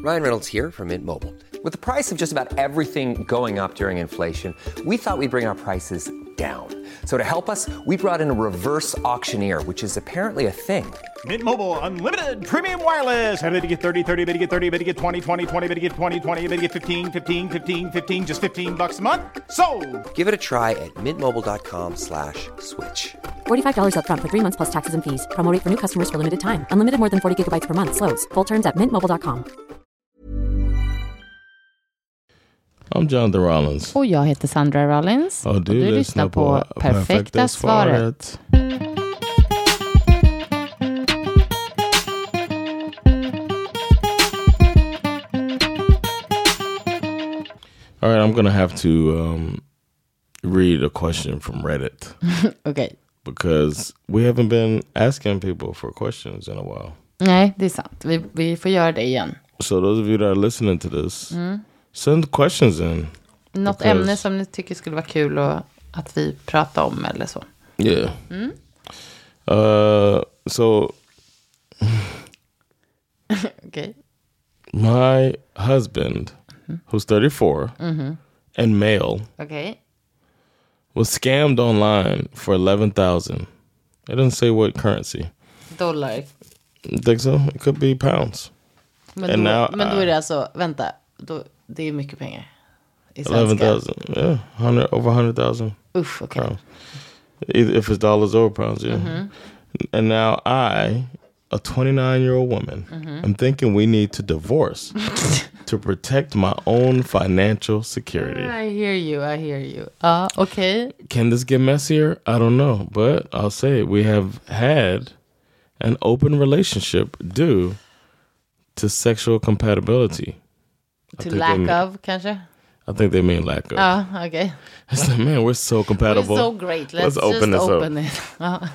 Ryan Reynolds here from Mint Mobile. With the price of just about everything going up during inflation, we thought we'd bring our prices down. So to help us, we brought in a reverse auctioneer, which is apparently a thing. Mint Mobile Unlimited Premium Wireless. How to get 30, 30, bit to get 30, bit to get 20, 20, 20, bit to get 20, 20, bit to get 15, 15, 15, 15, just $15 a month? Sold! Give it a try at mintmobile.com/switch. $45 up front for 3 months plus taxes and fees. Promo rate for new customers for limited time. Unlimited more than 40 gigabytes per month. Slows full terms at mintmobile.com. I'm Jonathan Rollins. Och jag heter Sandra Rollins. Och du lyssnar på Perfekta svaret. All right, I'm going to have to read a question from Reddit. Okay. Because we haven't been asking people for questions in a while. Nej, det är sant. Vi får göra det igen. So those of you that are listening to this, send questions in. Något ämne som ni tycker skulle vara kul och att vi pratar om eller så. Yeah. So Okay. my husband, who's 34 and male, Okay. was scammed online for $11,000. It doesn't say what currency. Dollar. You think so? It could be pounds. Men då är det alltså, vänta, det är mycket pengar. I svenska. 11,000. Yeah, over 100,000. Uff, okej. Pounds. Either if it's dollars or pounds, yeah. And now I, a 29-year-old woman, am thinking we need to divorce to protect my own financial security. I hear you. Okay. Can this get messier? I don't know, but I'll say we have had an open relationship due to sexual compatibility. To lack of, kanske? I think they mean lack of. Okay. It's like, man, we're so compatible. We're so great. Let's open just this open up. it.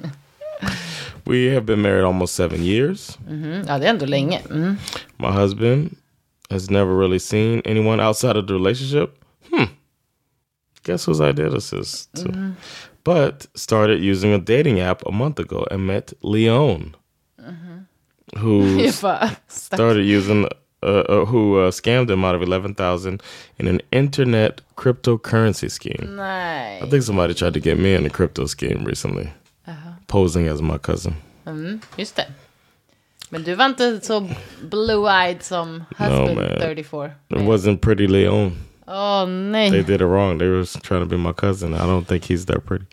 We have been married almost 7 years. Ja, det är ändå länge. My husband has never really seen anyone outside of the relationship. Guess whose idea this is? Too. But started using a dating app a month ago and met Leon, who started using, who scammed him out of $11,000 in an internet cryptocurrency scheme. Nej. I think somebody tried to get me in a crypto scheme recently, posing as my cousin. Just det. Men du var inte så blue-eyed som husband 34. It wasn't pretty Leon. Oh, nej. They did it wrong. They were trying to be my cousin. I don't think he's that pretty.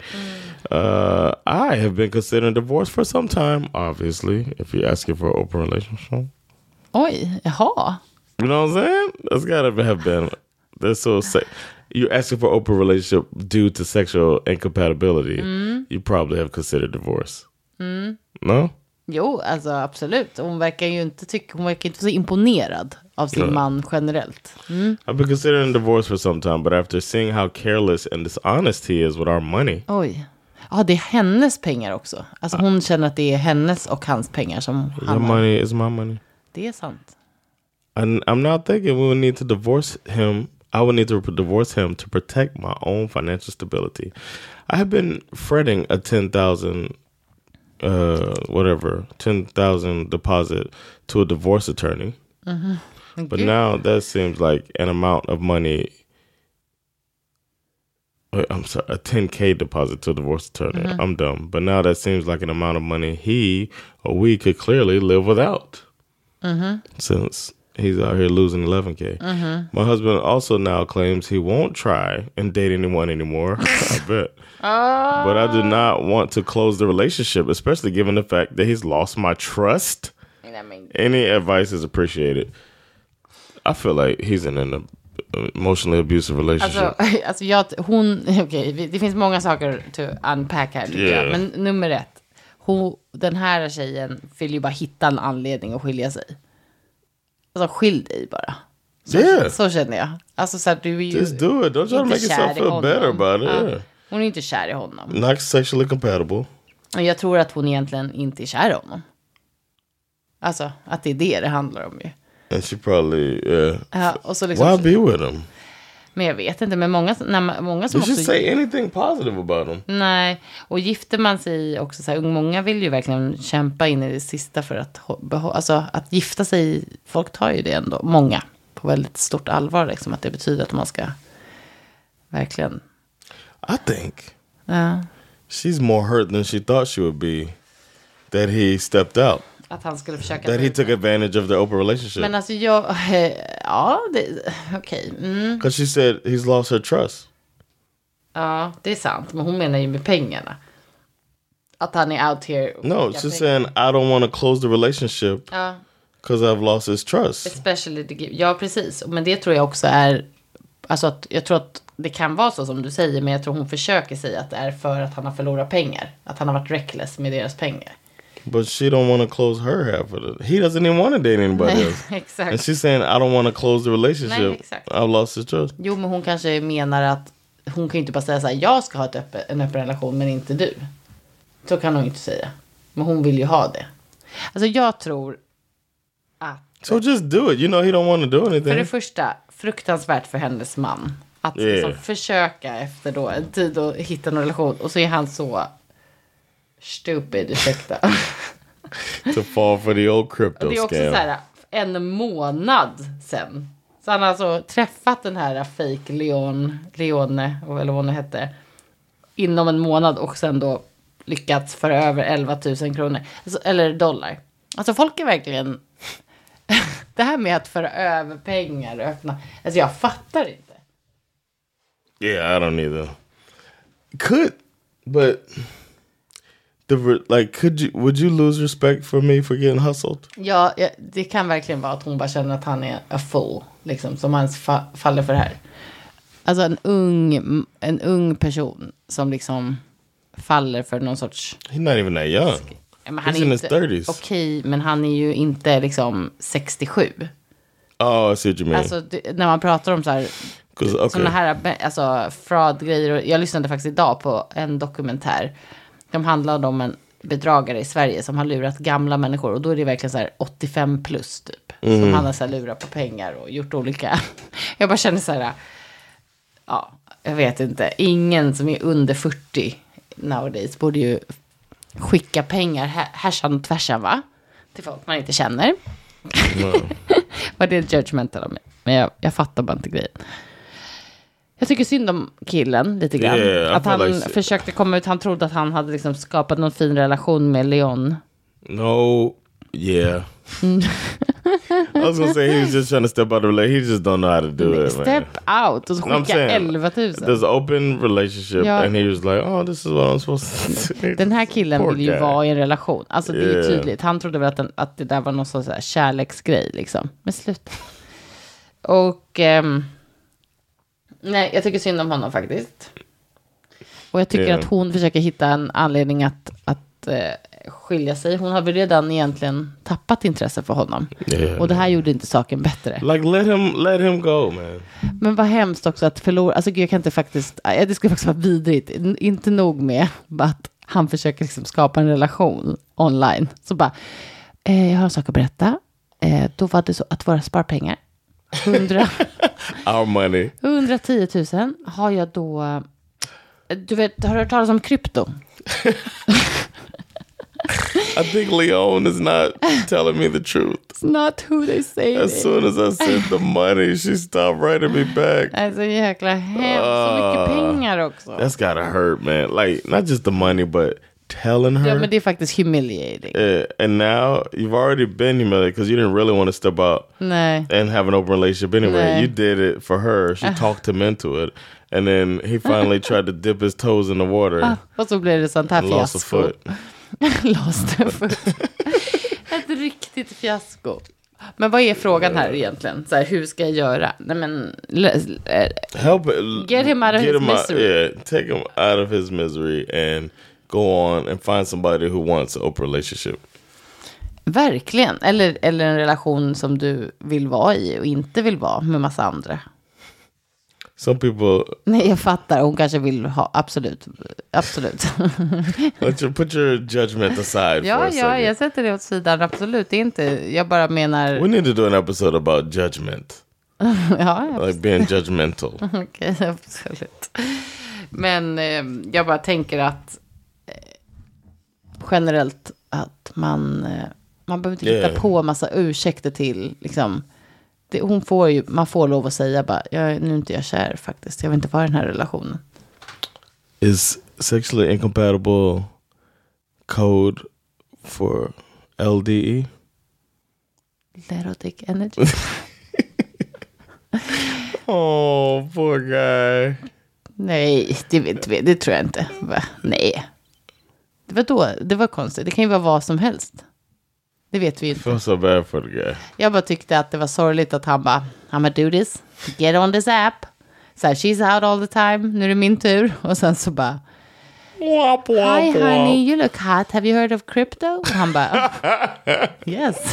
I have been considering divorce for some time, obviously, if you're asking for an open relationship. Oj, jaha. You know what I'm saying? That's gotta have been. That's so you're asking for open relationship due to sexual incompatibility. You probably have considered divorce. No? Jo, alltså absolut. Hon verkar inte så imponerad av sin man generellt. I've been considering divorce for some time, but after seeing how careless and dishonest he is with our money. Oj. Ja, det är hennes pengar också. Alltså hon känner att det är hennes och hans pengar som han har. Your money is my money. Det är sant. And I'm not thinking we would need to divorce him. I would need to divorce him to protect my own financial stability. I have been fretting a $10,000 deposit to a divorce attorney. But now that seems like an amount of money. I'm sorry, a $10K deposit to a divorce attorney. I'm dumb. But now that seems like an amount of money he or we could clearly live without. Since he's out here losing $11K. My husband also now claims he won't try and date anyone anymore. I bet. But I do not want to close the relationship, especially given the fact that he's lost my trust. Any advice is appreciated. I feel like he's in an emotionally abusive relationship. Det finns många saker to unpack här tycker jag. Men nummer 1. Den här tjejen vill ju bara hitta en anledning att skilja sig. Alltså skilj dig bara. Så känner jag. Alltså så här, du är ju just do it. Don't try to make yourself feel better about it. Yeah. Hon är inte kär i honom. Not sexually compatible. Och jag tror att hon egentligen inte är kär i honom. Alltså att det är det handlar om ju. And she probably och så liksom, why be with him? Men jag vet inte, men många som You också... should say anything positive about them. Nej, och gifter man sig också så här, många vill ju verkligen kämpa in i det sista för att alltså att gifta sig, folk tar ju det ändå, många, på väldigt stort allvar liksom, att det betyder att man ska verkligen... I think she's more hurt than she thought she would be that he stepped out. Att han skulle försöka... That he took advantage of their open relationship. Men alltså okej. Because she said he's lost her trust. Ja, det är sant. Men hon menar ju med pengarna. Att han är out here. No, she's saying I don't want to close the relationship. Ja. Because I've lost his trust. Especially the gift. Ja, precis. Men det tror jag också är... Alltså att jag tror att det kan vara så som du säger. Men jag tror hon försöker säga att det är för att han har förlorat pengar. Att han har varit reckless med deras pengar. But she don't want to close her half of it. He doesn't even want to date anybody else. Exakt. And she's saying, I don't want to close the relationship. Nej, exakt. I've lost his trust. Jo, men hon kanske menar att hon kan ju inte bara säga så här, jag ska ha en öppen relation, men inte du. Så kan hon inte säga. Men hon vill ju ha det. Alltså jag tror att... So just do it. You know he don't want to do anything. För det första, fruktansvärt för hennes man. Att liksom försöka efter då en tid att hitta en relation. Och så är han så stupid, ursäkta. To fall for the old crypto scam. Det är också så här, en månad sen. Så han har alltså träffat den här fake Leone, eller vad hon hette, inom en månad och sen då lyckats föra över 11 000 kronor. Alltså, eller dollar. Alltså folk är verkligen... det här med att föra över pengar och öppna... Alltså jag fattar inte. Yeah, I don't either. But... would you lose respect for me for getting hustled? Ja, det kan verkligen vara att hon bara känner att han är a fool, liksom, som han faller för det här. Alltså en ung person som liksom faller för någon sorts... He's not even that young. Men han He's in his 30s. Okej, men han är ju inte liksom 67. Oh, I see what you mean. Alltså när man pratar om så här... såna här alltså, fraud-grejer. Jag lyssnade faktiskt idag på en dokumentär. De handlade om en bedragare i Sverige som har lurat gamla människor. Och då är det verkligen så här 85 plus typ. Som han har så här lurat på pengar och gjort olika... Jag bara känner så här... Ja, jag vet inte. Ingen som är under 40 nowadays borde ju skicka pengar härsan och tvärsan, va? Till folk man inte känner. Vad det är judgmental av mig. Men jag fattar bara inte grejen. Jag tycker synd om killen lite grann. Yeah, att han försökte komma ut. Han trodde att han hade liksom skapat någon fin relation med Leon. No, yeah. I was gonna say he was just trying to step out of the relationship. He just don't know how to do it. Step out och så skicka 11 000. There's an open relationship and he was like, oh, this is what I'm supposed to do. Den här killen vill ju vara i en relation. Alltså det är ju tydligt. Han trodde väl att det där var någon sån här kärleksgrej liksom. Men sluta. Och nej, jag tycker synd om honom faktiskt. Och jag tycker att hon försöker hitta en anledning att skilja sig. Hon har väl redan egentligen tappat intresse för honom. Och det här gjorde inte saken bättre. Like let him go, man. Men vad hemskt också att förlora. Alltså jag kan inte faktiskt... Det skulle faktiskt vara vidrigt. Inte nog med att han försöker liksom skapa en relation online. Så bara, jag har en sak att berätta. Då var det så att våra sparpengar 110 000 har jag då... Du vet, har du hört talas om krypto? I think Leon is not telling me the truth. It's not who they say. As soon as I sent the money, she stopped writing me back. Alltså jäkla hemskt. Så mycket pengar också. That's gotta hurt, man. Like, not just the money, but telling her. Ja, men det är faktiskt humiliating. And now, you've already been humiliated because you didn't really want to step out and have an open relationship anyway. You did it for her. She talked him into it. And then he finally tried to dip his toes in the water. Och så blev det sånt här fiasko. Lost a foot. Lost a foot. Ett riktigt fiasko. Men vad är frågan här egentligen? Så här, hur ska jag göra? Nej, men help get him out of his misery. Take him out of his misery and go on and find somebody who wants an open relationship. Verkligen. Eller en relation som du vill vara i och inte vill vara med massa andra. Some people... Nej, jag fattar. Hon kanske vill ha... Absolut. Put your judgment aside for a second. Ja, jag sätter det åt sidan. Absolut, det är inte... Jag bara menar... We need to do an episode about judgment. Ja, like being judgmental. Okej, absolut. Men jag bara tänker att generellt att man behöver inte hitta på massa ursäkter till liksom. Man får lov att säga bara, nu är inte jag kär faktiskt. Jag vill inte vara i den här relationen. Is sexually incompatible code for LDE? Little dick energy. Oh, poor guy. Nej, det tror jag inte. Nej. Det var konstigt. Det kan ju vara vad som helst. Det vet vi inte. Feel so bad for the guy. Jag bara tyckte att det var sorgligt att han bara, I'm gonna do this. Get on this app. Så här, she's out all the time. Nu är det min tur. Och sen så bara, hi honey, you look hot. Have you heard of crypto? Och han bara, yes.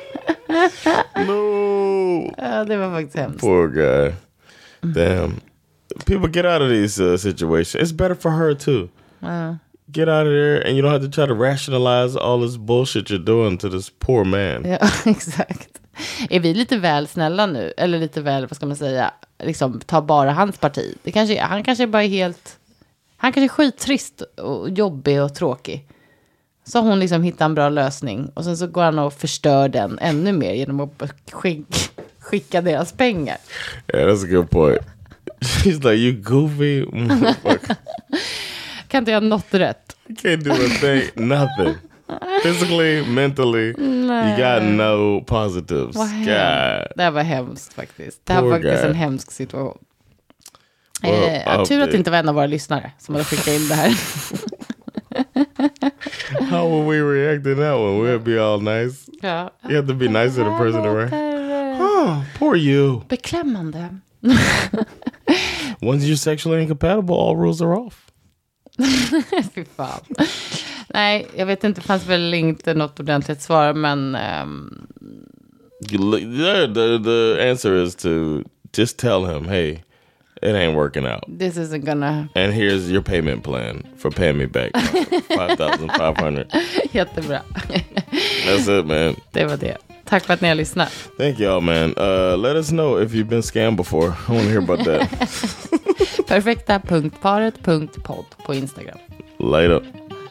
No. Ja, det var faktiskt hemskt. Poor guy. Damn. People get out of these situations. It's better for her too. Get out of there and you don't have to try to rationalize all this bullshit you're doing to this poor man. Ja, exakt. Är vi lite väl snälla nu? Eller lite väl, vad ska man säga? Liksom, ta bara hans parti. Han kanske bara är helt... Han kanske är skittrist och jobbig och tråkig. Så hon liksom hittar en bra lösning. Och sen så går han och förstör den ännu mer genom att skicka deras pengar. Yeah, that's a good point. She's like, you goofy motherfucker. Kan inte jag något rätt? You can't do a thing, nothing. Physically, mentally, you got no positives. God. Det här var hemskt faktiskt. Det här var faktiskt en hemsk situation. Tur att det inte var en av våra lyssnare som hade skickat in det här. How would we react to that one? We'd be all nice. Ja. You have to be nice to the person around. Oh, poor you. Beklämmande. Once you're sexually incompatible, all rules are off. Fy fan. Nej, jag vet inte, det fanns väl inte något ordentligt svar, men... The answer is to just tell him, hey, it ain't working out. This isn't gonna... And here's your payment plan for paying me back. 5,500. Jättebra. That's it, man. Det var det. Tack för att ni har lyssnat. Thank y'all, man. Let us know if you've been scammed before. I want to hear about that. Perfekta.paret.podd på Instagram. Later.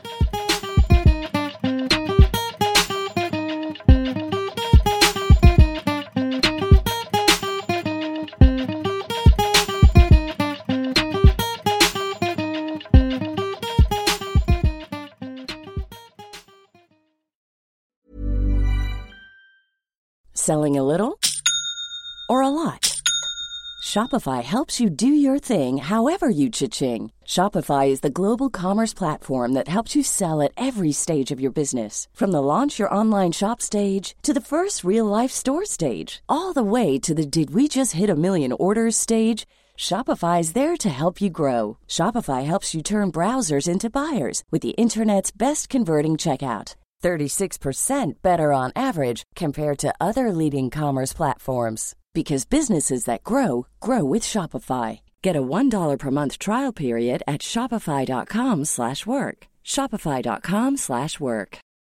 Selling a little or a lot? Shopify helps you do your thing however you cha-ching. Shopify is the global commerce platform that helps you sell at every stage of your business. From the launch your online shop stage to the first real-life store stage, all the way to the did we just hit a million orders stage. Shopify is there to help you grow. Shopify helps you turn browsers into buyers with the internet's best converting checkout. 36% better on average compared to other leading commerce platforms. Because businesses that grow, grow with Shopify. Get a $1 per month trial period at shopify.com/work. Shopify.com/work.